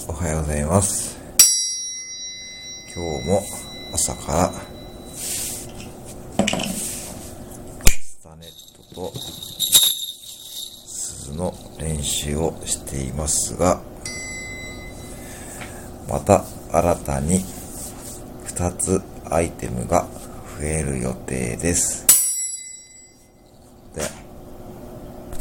おはようございます。今日も朝からスタネットと鈴の練習をしていますが、また新たに2つアイテムが増える予定です。